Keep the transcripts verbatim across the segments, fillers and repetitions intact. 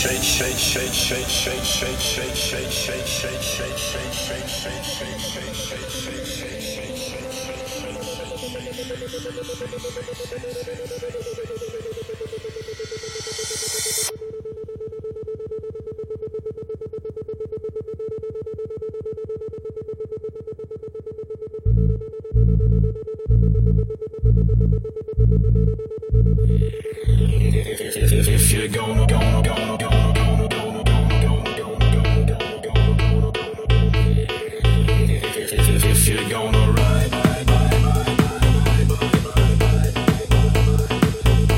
If you're gonna, gonna, gonna, gonna, gonna, gonna, gonna, gonna, gonna, gonna, if you're gonna ride, ride, ride, ride, ride, ride, ride, ride,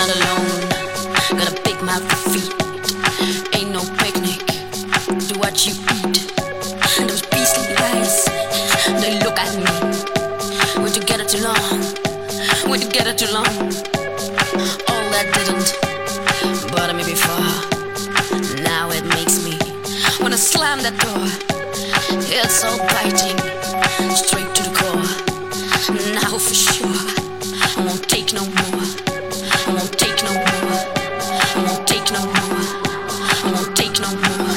not alone. Got a big mouth to feed. Ain't no picnic. Do what you eat. Those beastly eyes, they look at me. We're together too long. We're together too long. All that didn't bother me before. Now it makes me wanna slam that door. It's so biting, straight to the core. Now for sure, I won't take no more. I won't take no more. I won't take no more. I won't take no more.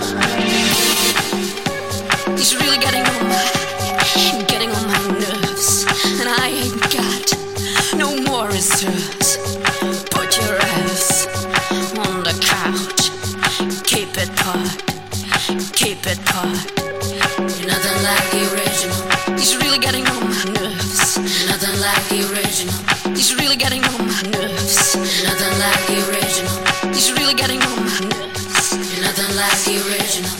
He's really getting on my, getting on my nerves, and I ain't got no more reserves. Put your ass on the couch. Keep it parked. Keep it parked. You're nothing like the original. He's really getting on my nerves. You're nothing like the original. He's really getting on my nerves. You're nothing like the original. He's really getting on my nerves. You're nothing like the original.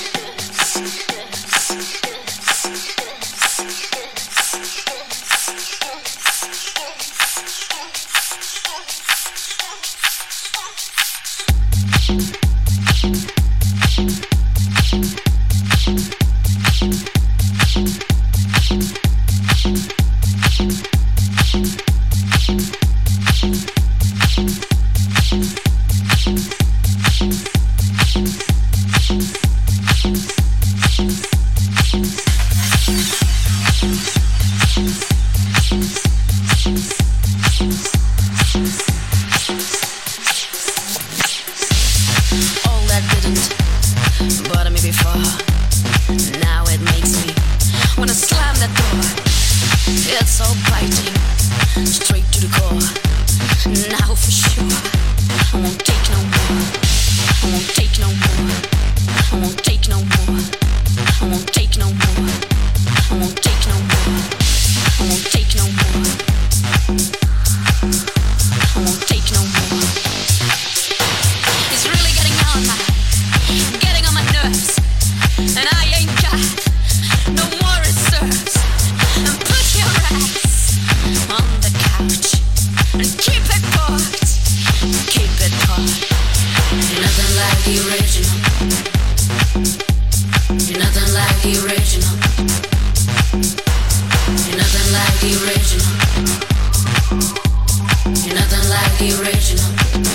All that didn't bother me before. Now it makes me wanna slam that door. It's so biting, straight to the core. Now for sure, I won't take no more. I won't take no more. I won't take no more. I won't take no more. I won't take no more. I won't take no more. I won't take no more. It's really getting on my, getting on my nerves, and I ain't got no more reserves. And put your ass on the couch and keep it parked. Keep it parked. You're nothing like the original. You're nothing like the original. You're nothing like the original. You're nothing like the original.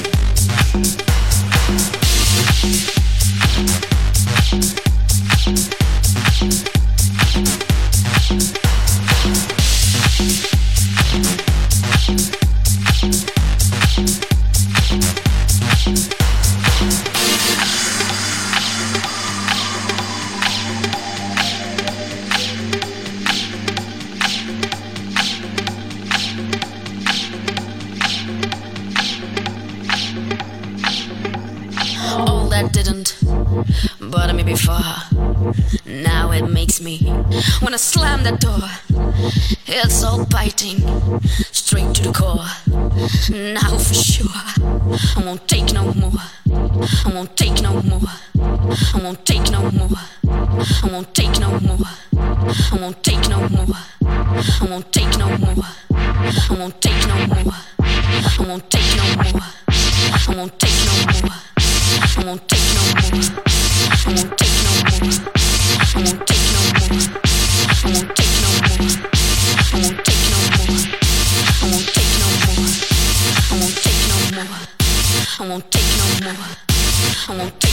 All that didn't bother me before. Now it makes me wanna slam that door. It's so biting, straight to the core. Now for sure, I won't take no more. I won't take no more. I won't take no more. I won't take no more. I won't take no more. I won't take no more. I won't take no more. I won't take no more. I won't take no more. I won't take no more. I won't take no more. I won't take no more. I won't take no more. I won't take no more. I won't take no more. I won't take no more. I won't take no more. I won't